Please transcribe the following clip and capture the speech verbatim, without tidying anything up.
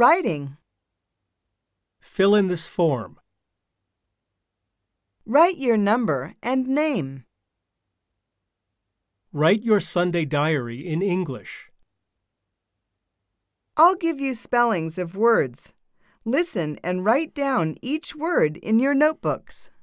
writing. Fill in this form. Write your number and name. Write your Sunday diary in English. I'll give you spellings of words. Listen and write down each word in your notebooks.